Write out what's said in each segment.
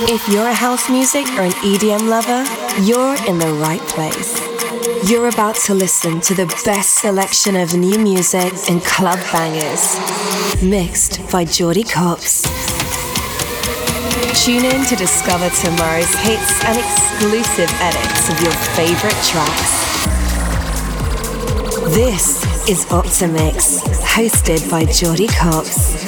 If you're a house music or an EDM lover, you're in the right place. You're about to listen to the best selection of new music and club bangers, mixed by Jordy Copps. Tune in to discover tomorrow's hits and exclusive edits of your favorite tracks. This is Optimix, hosted by Jordy Copps.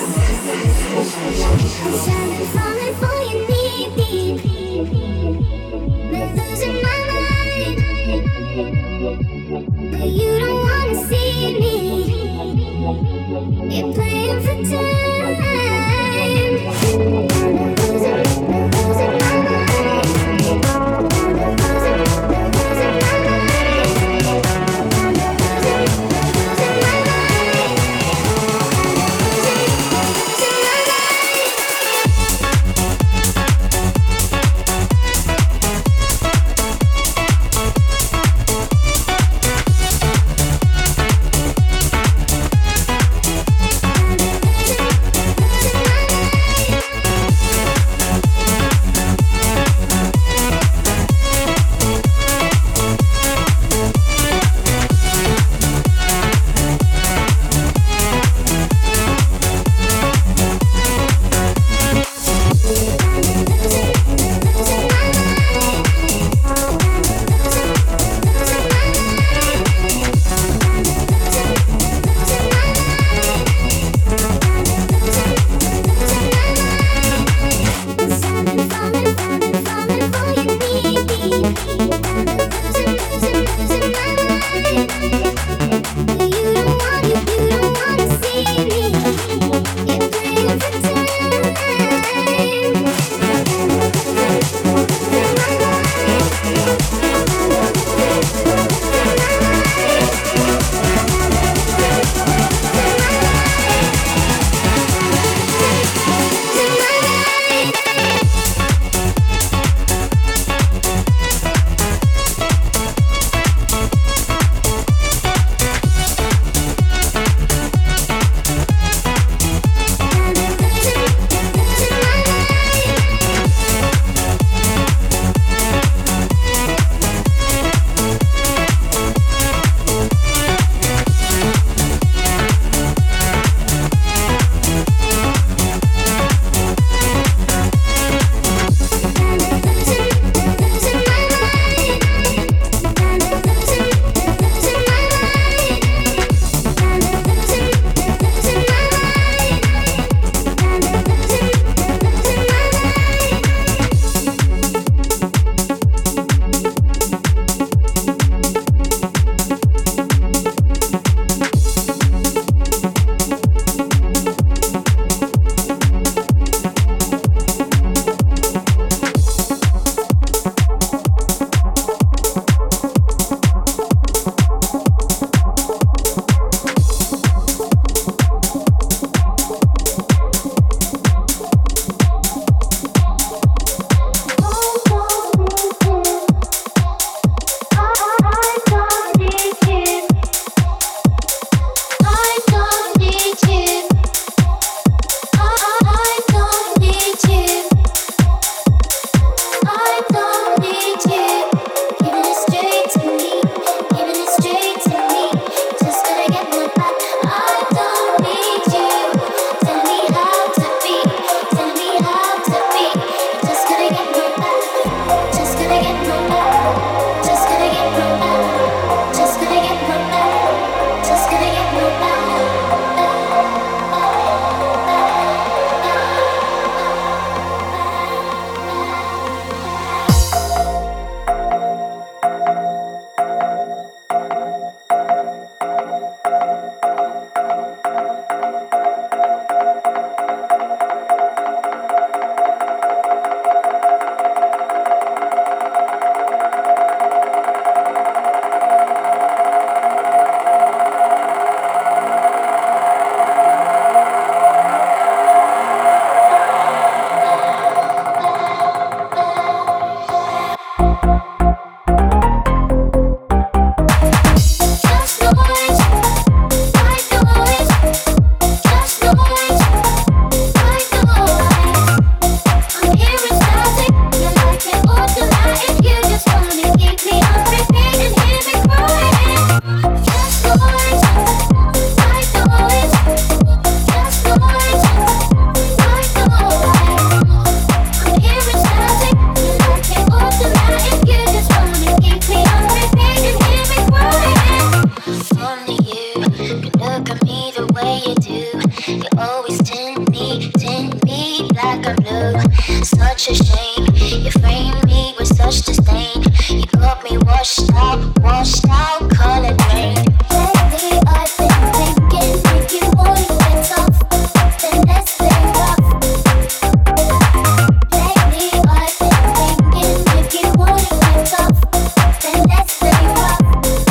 You don't wanna see me. You're playing for time. such a shame. You framed me with such disdain. You got me washed out, colored rain. Lately I've been thinking if you wanna get tough, then let's play rough. Lately I've been thinking if you wanna get tough, then let's play rough.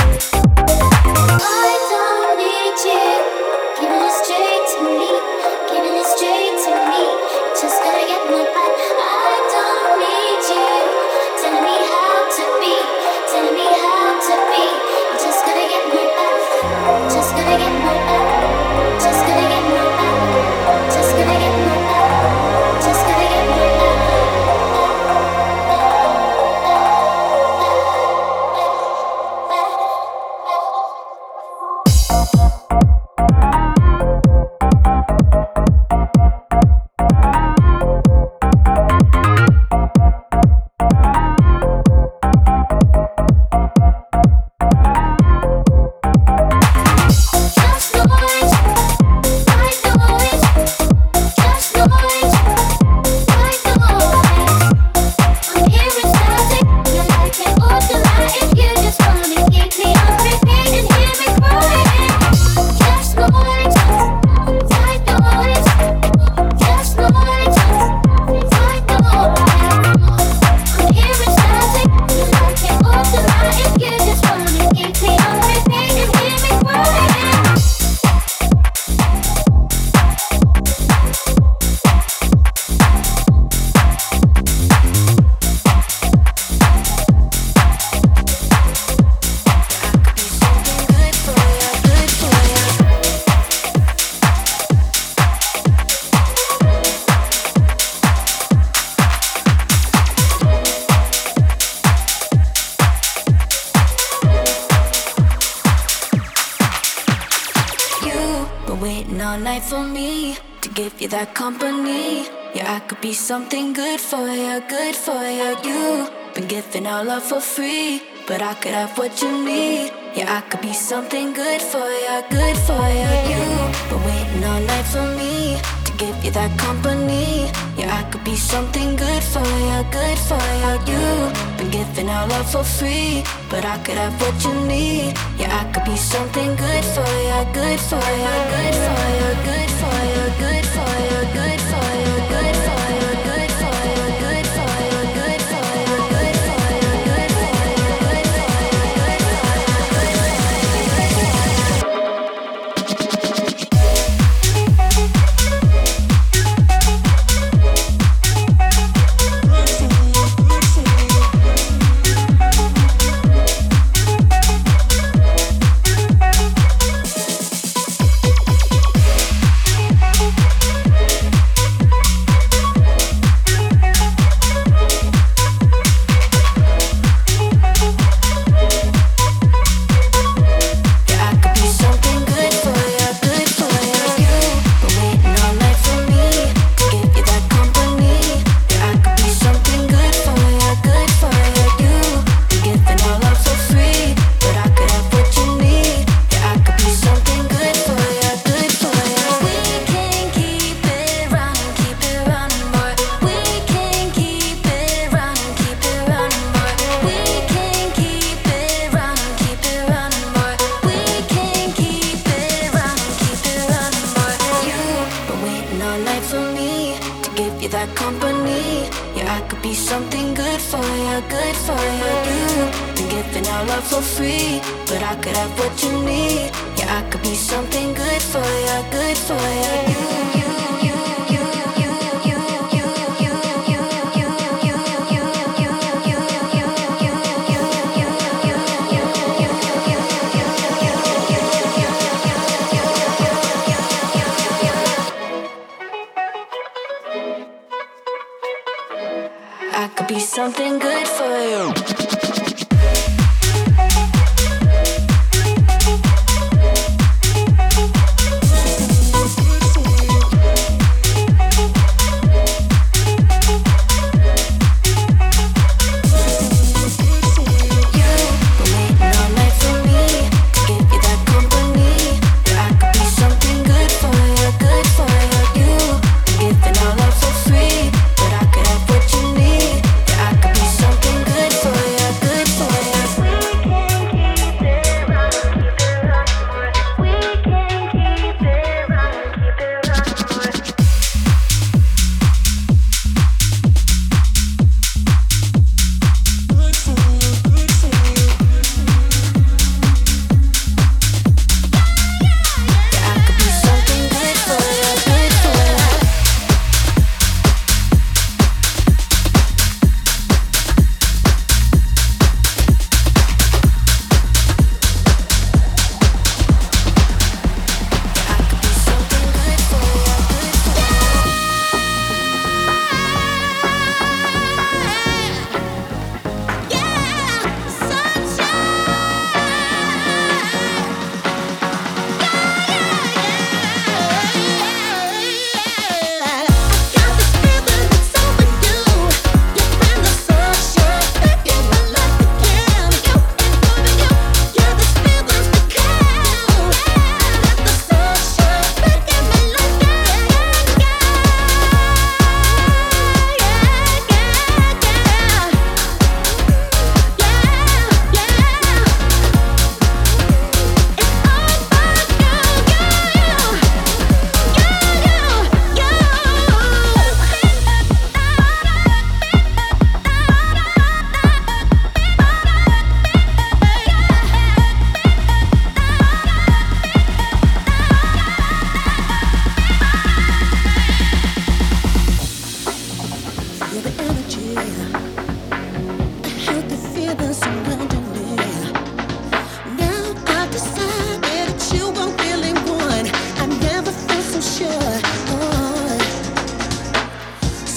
I don't need you, giving it straight to me, giving it straight to me. Just gotta get my back. I don't need you, telling me how to be, telling me how to be. You just gotta get my back, just gotta get my back, just gotta get my back, just gotta get my back, just gotta get my back. That company, yeah, I could be something good for you, good for you. You've been giving our love for free, but I could have what you need. Yeah, I could be something good for you, good for you. You've been waiting all night for me to give you that company. Yeah, I could be something good for you, good for you. You've been giving our love for free, but I could have what you need. Yeah, I could be something good for you, good for you, good for you, good for you, good for you, good for you, good for you, good for you, good for you, good for you, good for you, good for something good for you. But I could have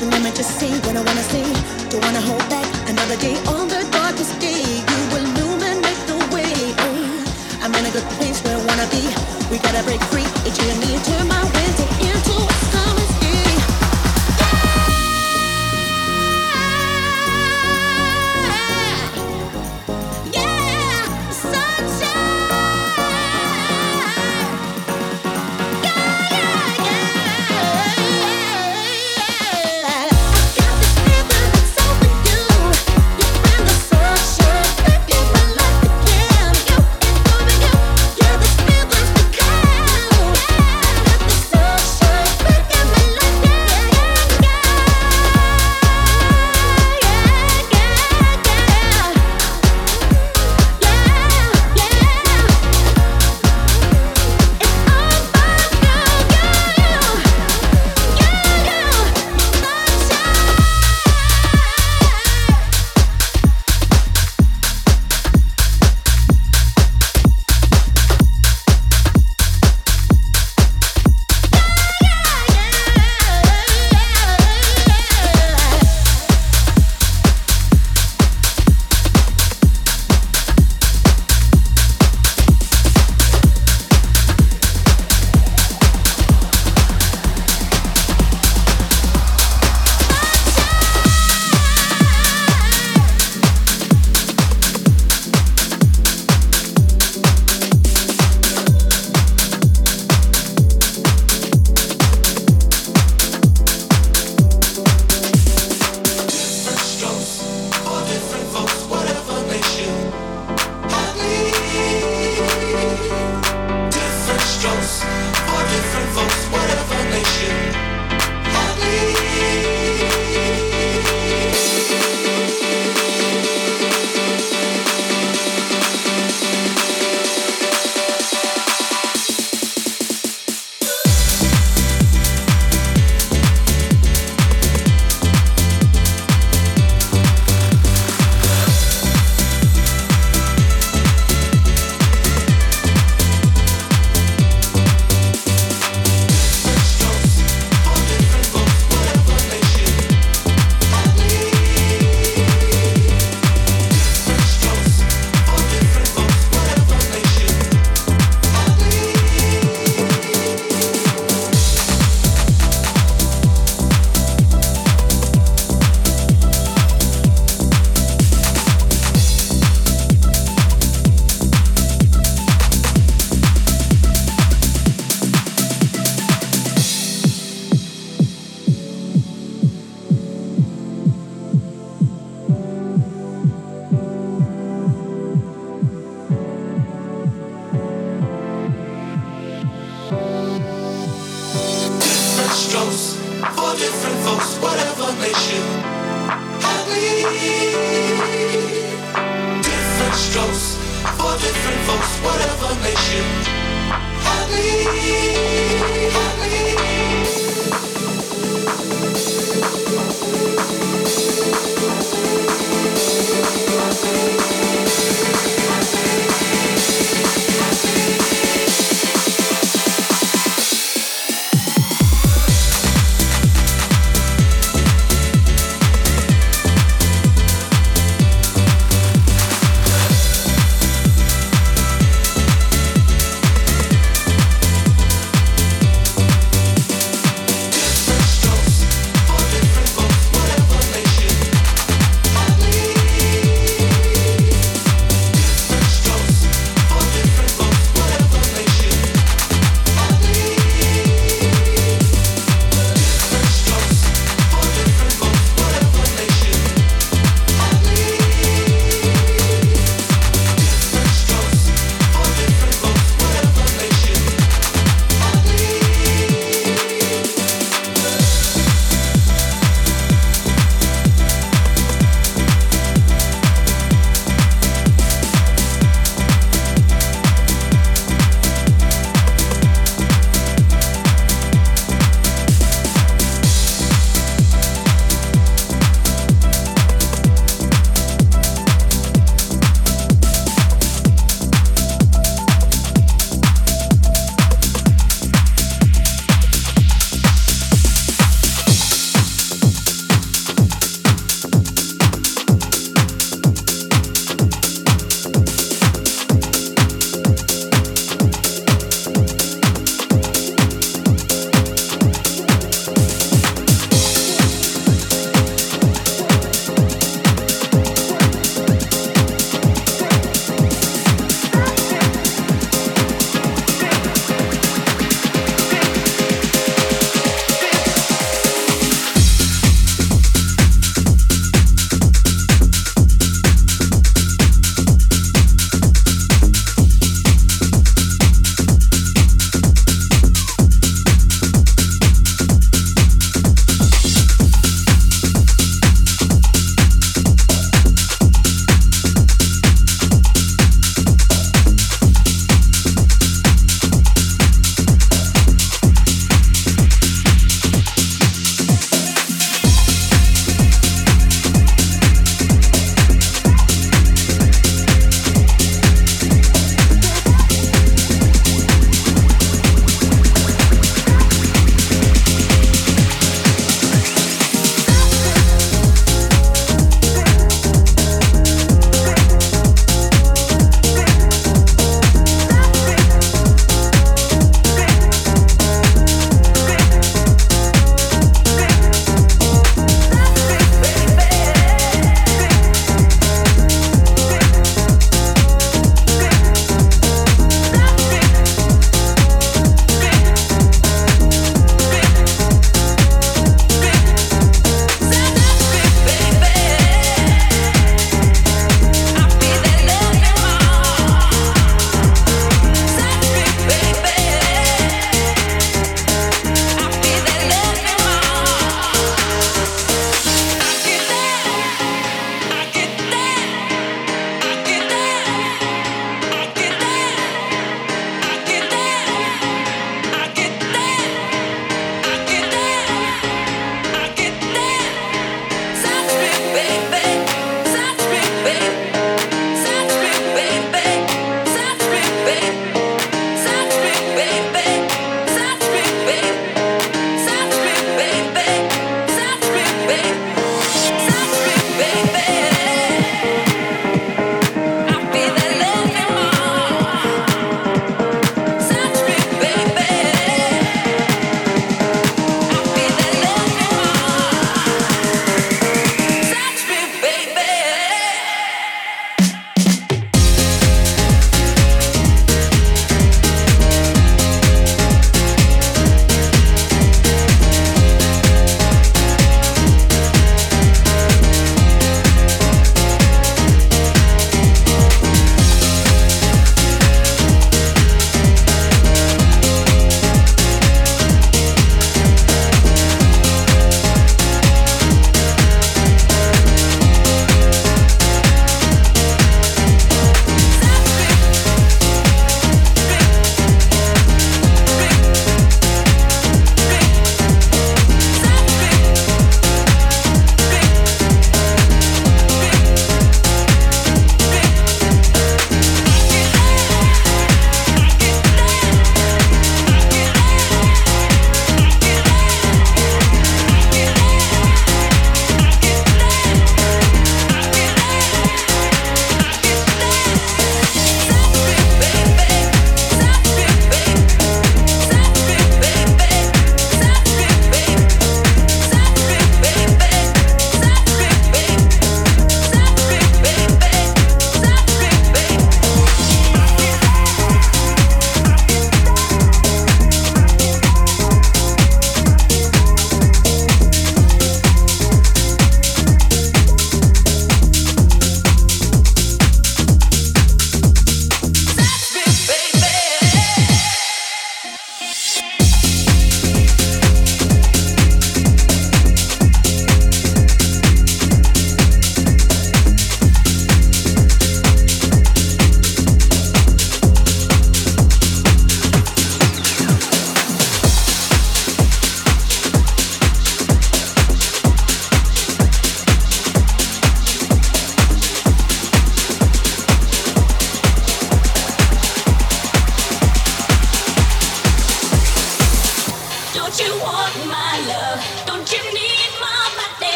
So let me just say what I wanna say. Don't wanna hold back another day on the darkest day. You illuminate the way. I'm in a good place where I wanna be. We gotta break free. It's you and me. Turn my winter into a summer's day.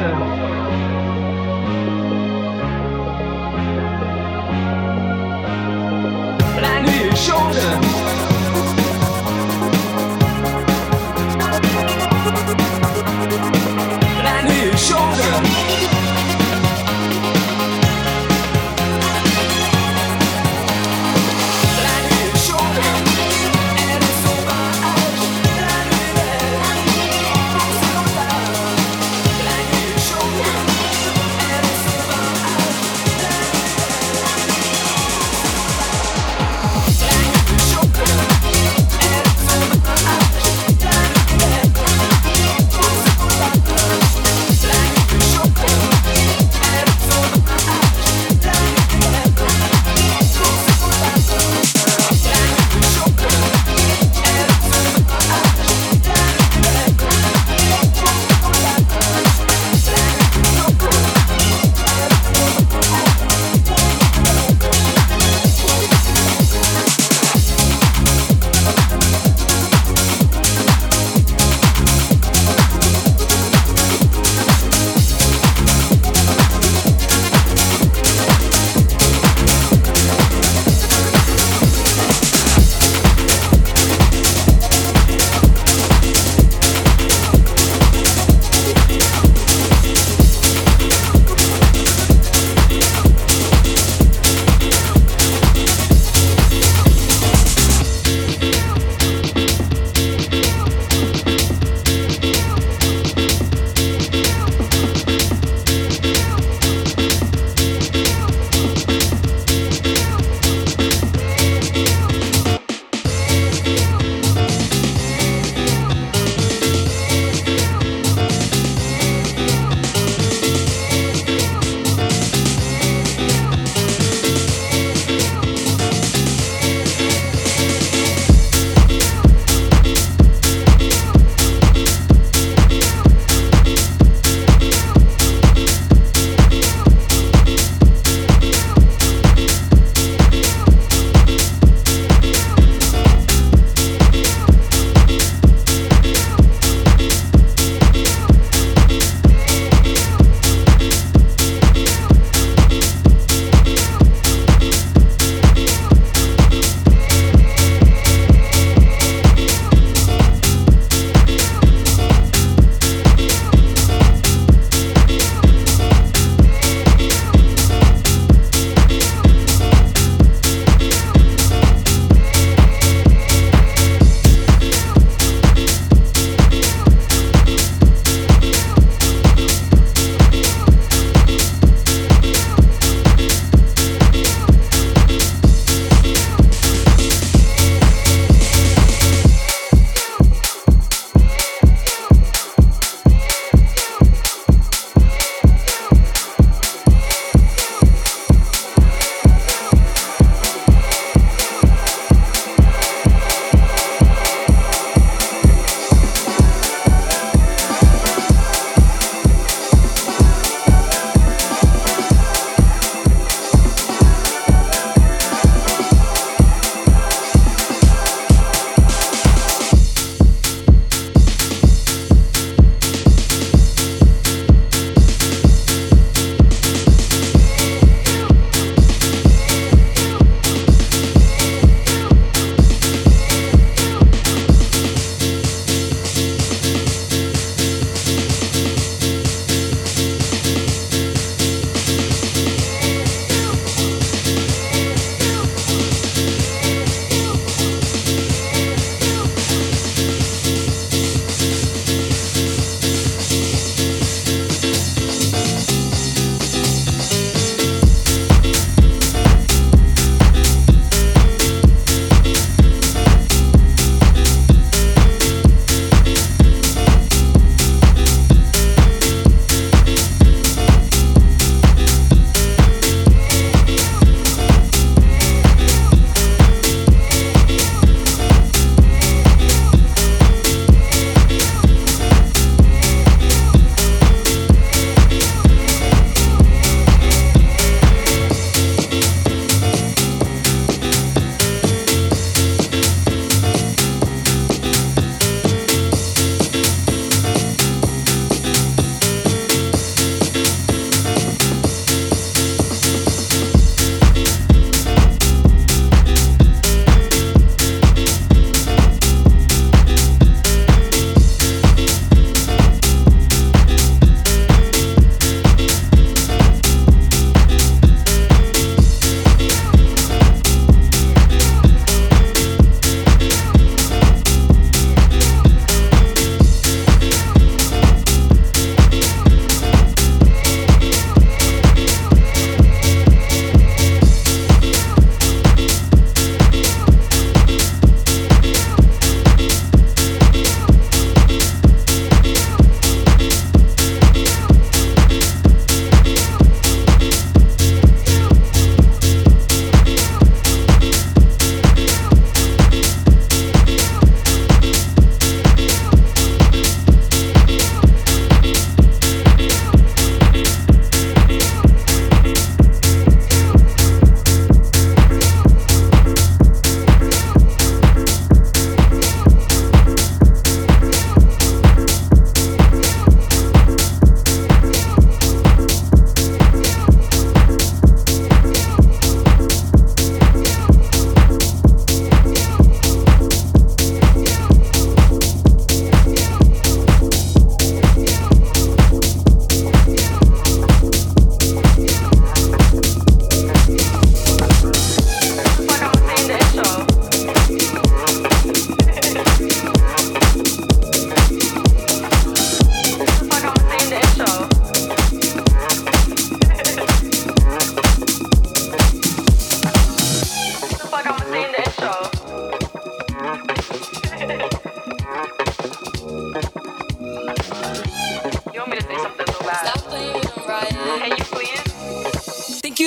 Shoulder.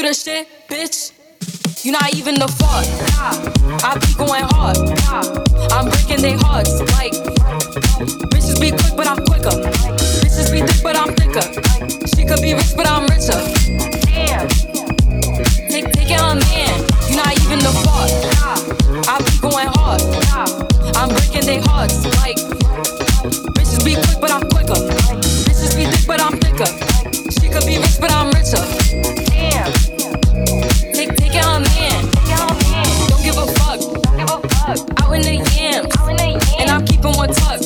the shit, bitch. You not even the fuck. I be going hard. I'm breaking their hearts. Like bitches be quick, but I'm quicker. Bitches be thick, but I'm thicker. She could be rich, but I'm richer. Damn. Take it on man. You not even the fuck. I be going hard. I'm breaking their hearts. Like bitches be quick, but I'm quicker. Bitches be thick, but I'm thicker. She could be rich, but I'm richer. Damn. Take it on man. Don't give a fuck. Out in the yams. And I'm keeping one tuck.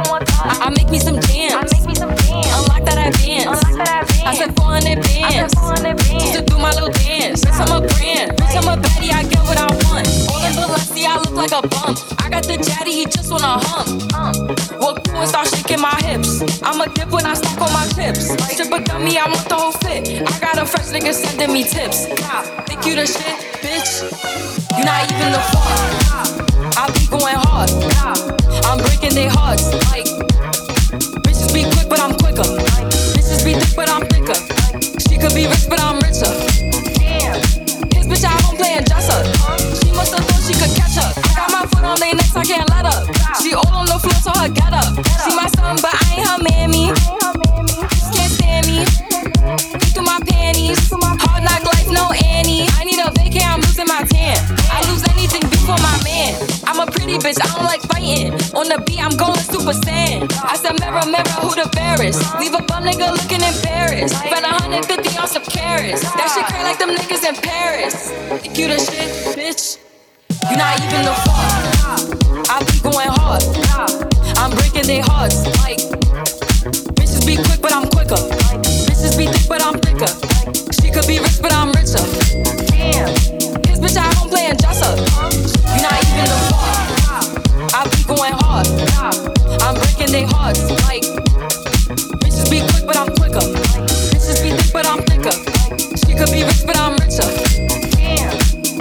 I make me some jams. Unlock that advance. I said 400 bands. Just to do my little dance. Bitch, I'm a brand. Bitch, I'm a baddie. I get what I want. All in Balenci, I look like a bum. I got the jaddy, he just wanna hump. Walk through and start shaking my hips. I'm a dip when I stack on my chips. Strip a dummy, I want the whole fit. I got a fresh nigga sending me tips. Think you the shit, bitch? You not even the fuck. I be going hard. I'm breaking their hearts. Like bitches be quick, but I'm quicker. Bitches be thick, but I'm thicker. She could be rich, but I'm richer. Damn. His bitch at home playing dress up. She must have thought she could catch up. I got my foot on their necks, I can't let up. She all on the floor, so her get up. She my son, but I ain't her mammy. Just can't stand me. Eat through my panties. Hard knock life, no Annie. I need a vacay, I'm losing my tan. I lose anything before my man. I'm a pretty bitch, I don't like fighting. On the beat, I'm going super saiyan. I said, mirror, mirror, who the fairest? Leave a bum nigga looking embarrassed. Spent 150 on some carrots. That shit crack like them niggas in Paris. Think you the shit, bitch? You not even the fuck. I be going hard. I'm breaking their hearts. Like bitches be quick, but I'm quicker. Bitches be thick, but I'm thicker. She could be rich, but I'm richer. Damn. His bitch at home playing dress up. You not even the fuck. I be going hard. I'm breaking their hearts. Like bitches be quick, but I'm quicker. Bitches be thick, but I'm thicker. She could be rich, but I'm richer. Damn.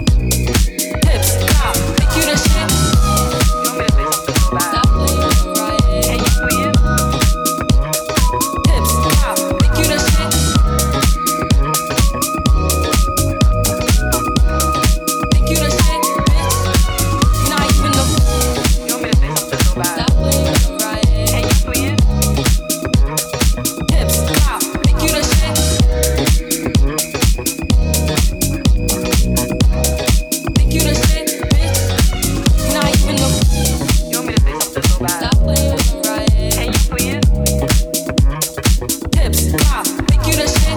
Hips, cop, think you the shit? You want me to say something bad? Stop playing, right? Can you please? Hips, cop, think you the shit? Think you the shit, bitch? You not even the. You want me to say something so bad? Stop playing, right? Can you please? Hips, cop, think you the shit? Think you the shit, bitch? You not even the. You want me to say something so bad? Stop playing, right? Can you please? Hips, cop, think you the shit?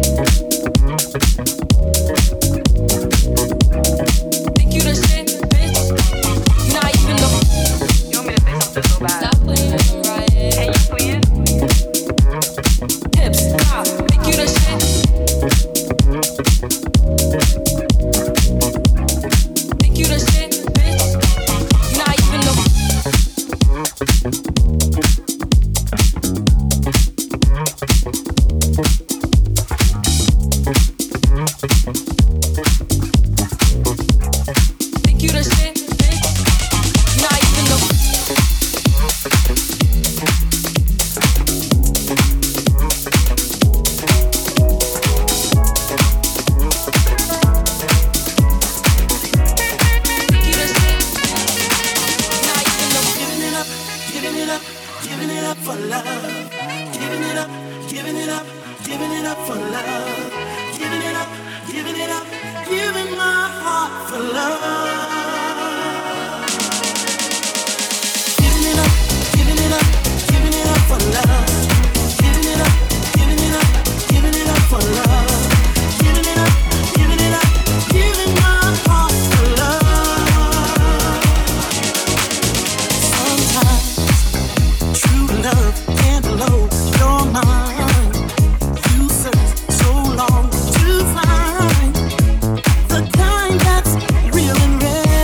Think you the shit, bitch? You not even the. You want me to say something so bad? Stop playing, right? Can you please? Hips, cop, think you the shit? Think you the shit, bitch? You not even the. Think you the shit, bitch? You not even the. Think you the shit? Not even the. Giving it up, giving it up, giving it up for love. Giving it up, giving it up, giving it up for love. Giving it up, giving it up, giving my heart for love. Giving it up, giving it up, giving it up for love. Giving it up, giving it up, giving it up for love. Giving it up, giving it up, giving my heart for love. Sometimes true love can't blow your mind. You search so long to find the kind that's real and rare.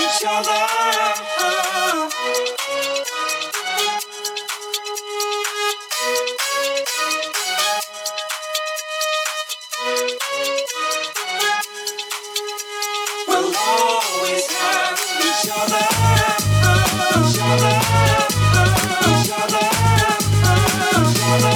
each other. We'll always have each other. Each other. Each other. Each other.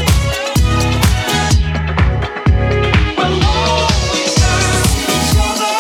Each other.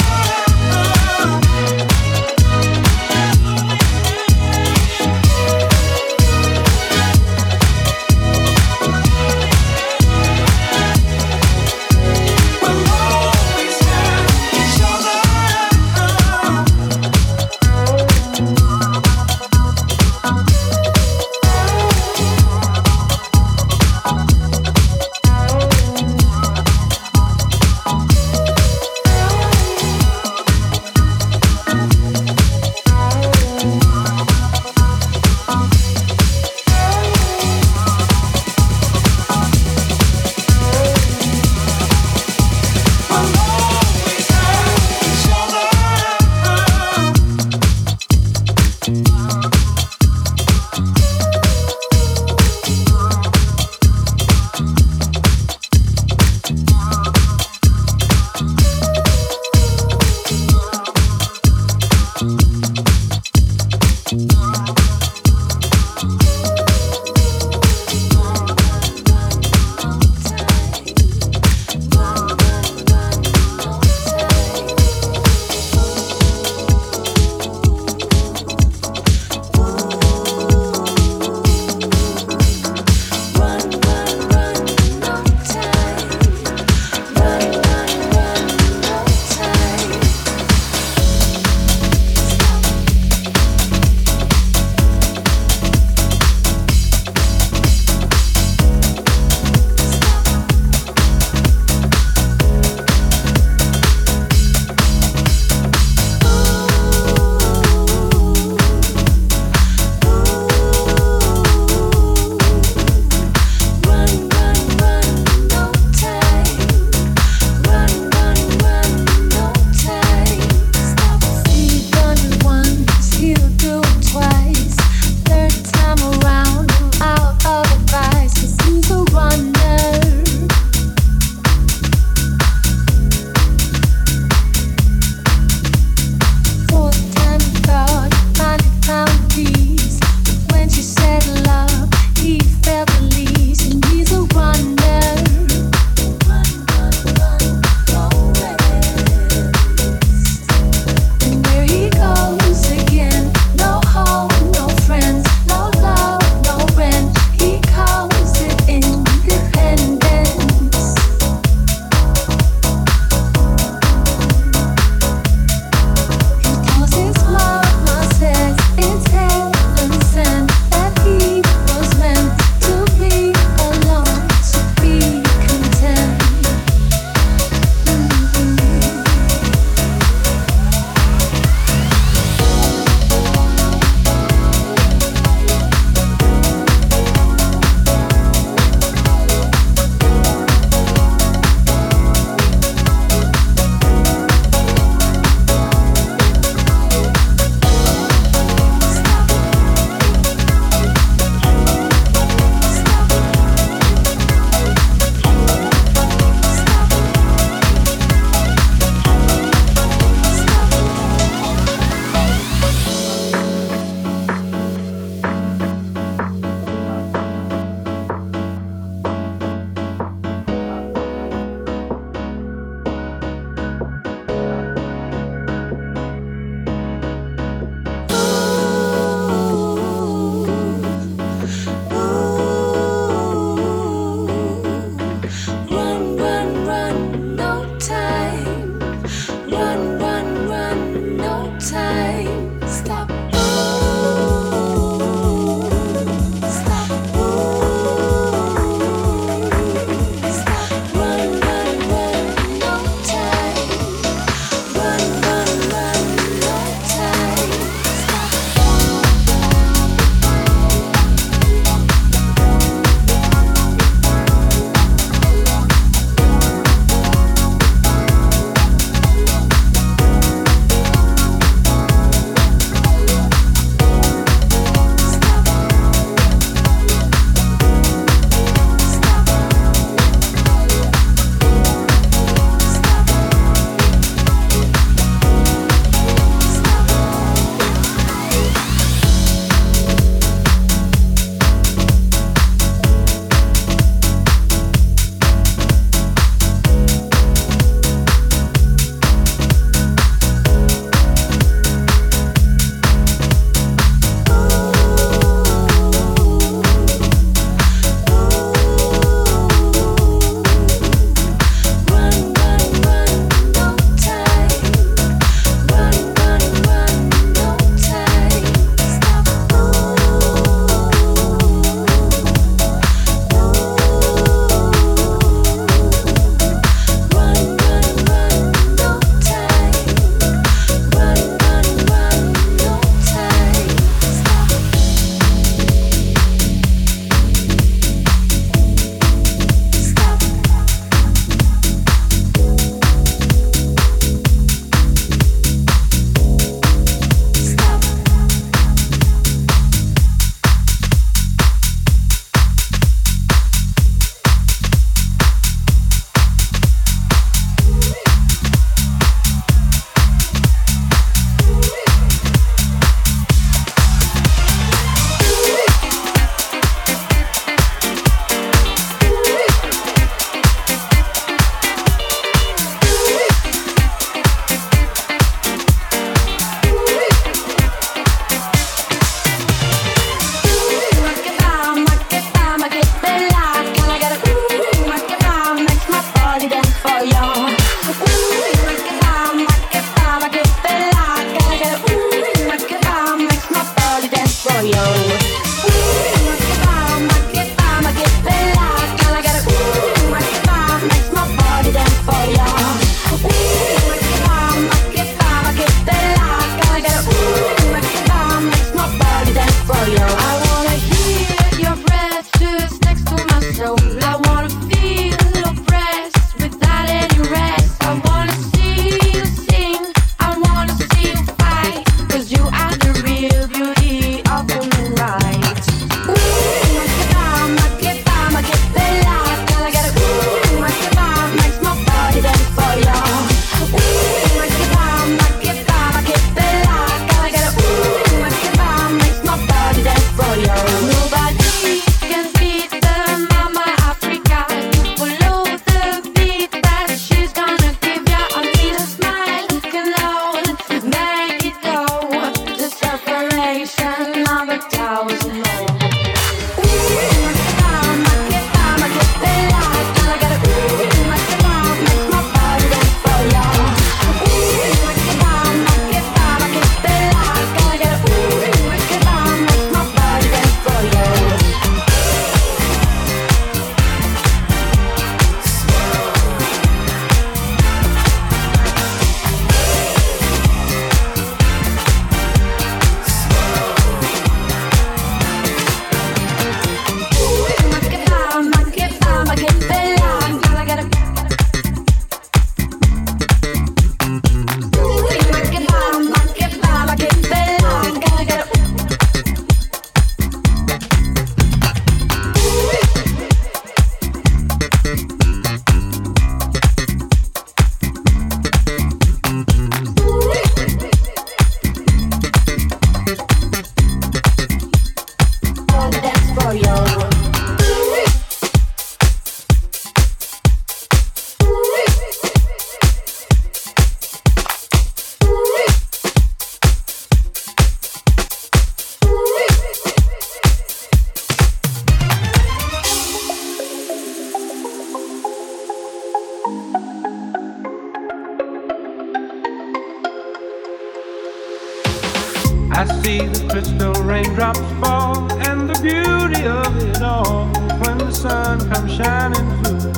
see the crystal raindrops fall, and the beauty of it all when the sun comes shining through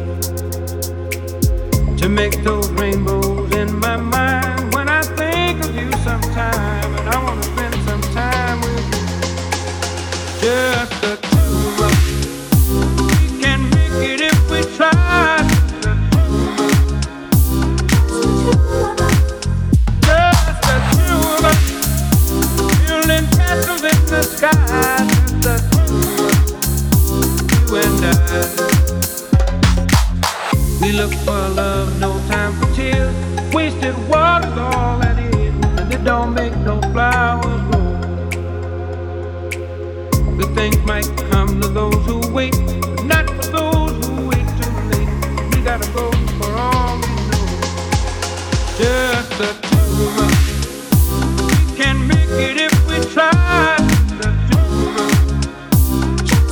to make those rainbows in my mind. When I think of you sometime, and I want to spend some time with you, just the two of us. We can make it if we try. Just the two of us, building castles in the sky. Just the two of us, you and I. We look for love, no time for tears. Wasted water's all that is, and it don't make no flowers grow. Good things might come to those who wait, but not for those who wait too late. We gotta go for all we know. Just the two of us. We can make it if we try. The two of us. Just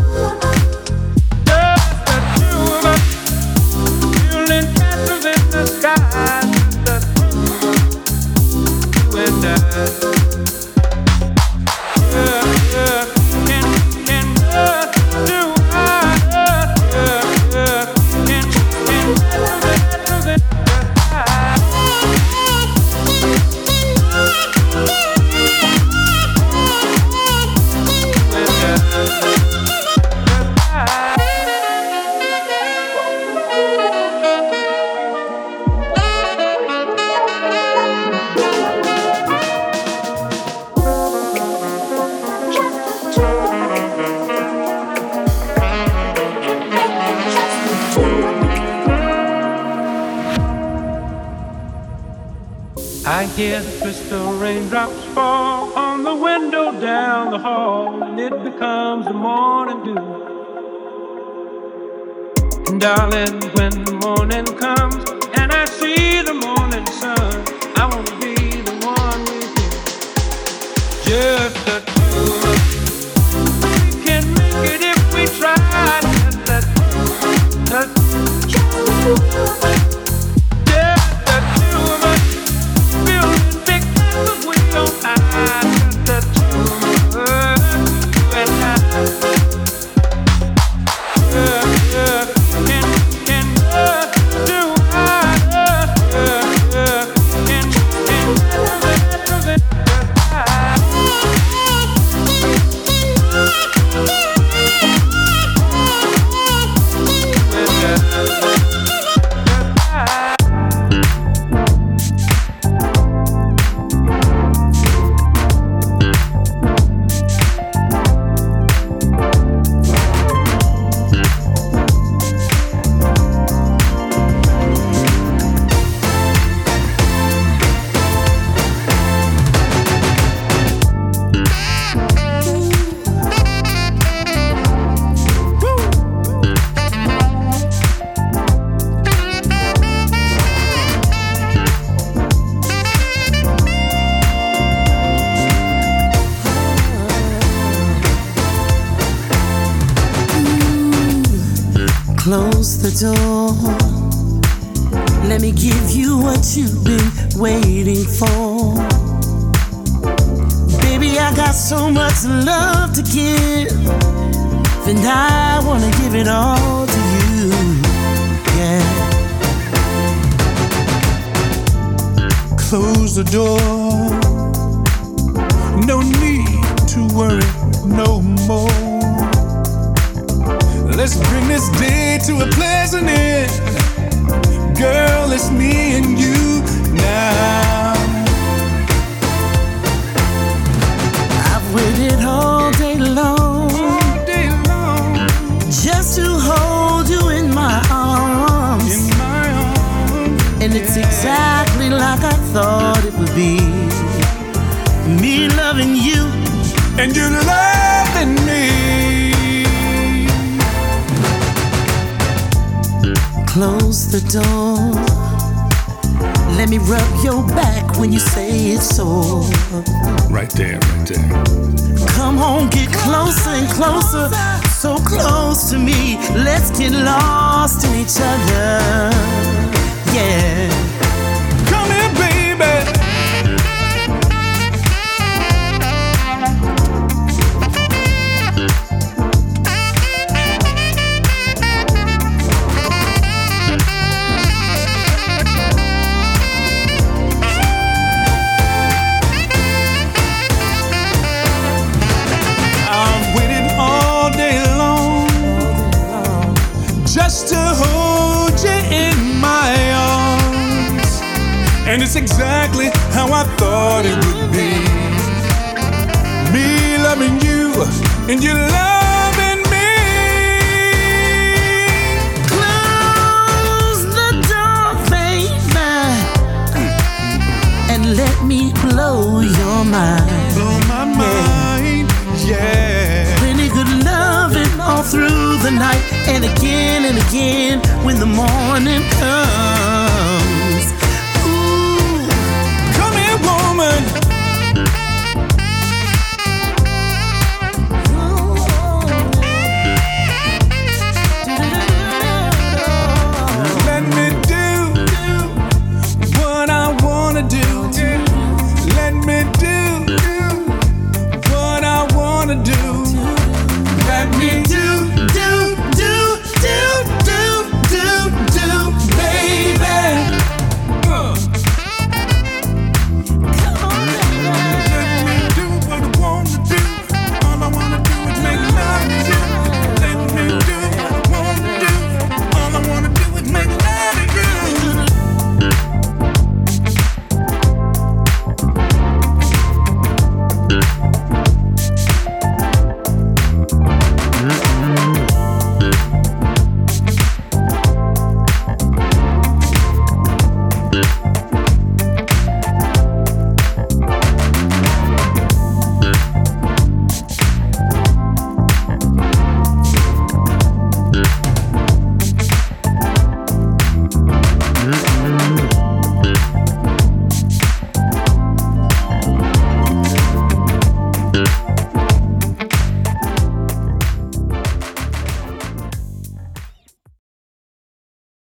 the two of us. Building castles in the sky. Just the two of us. You and I. I hear the crystal raindrops fall on the window down the hall, and it becomes the morning dew. And darling, when the morning comes and I see the morning sun, I want to be the one with you. Just the two of us. We can make it if we try. Just the two of us. Just the two of us. Close the door. Let me give you what you've been waiting for. Baby, I got so much love to give, and I wanna give it all to you. Yeah. Close the door. No need to worry no more. Let's bring this day to a pleasant end. Girl, it's me and you now. I've waited all day long, just to hold you in my arms. And it's exactly like I thought it would be. Me loving you, and you loving me. Close the door. Let me rub your back when you say it's sore. Right there, right there. Come on, get closer and closer, so close to me. Let's get lost in each other. Yeah. Come here, baby. just to hold you in my arms. And it's exactly how I thought it would be. Me loving you and you loving me. Close the door, baby, and let me blow your mind. Blow my mind, yeah. Plenty good loving all through the night, and again when the morning comes.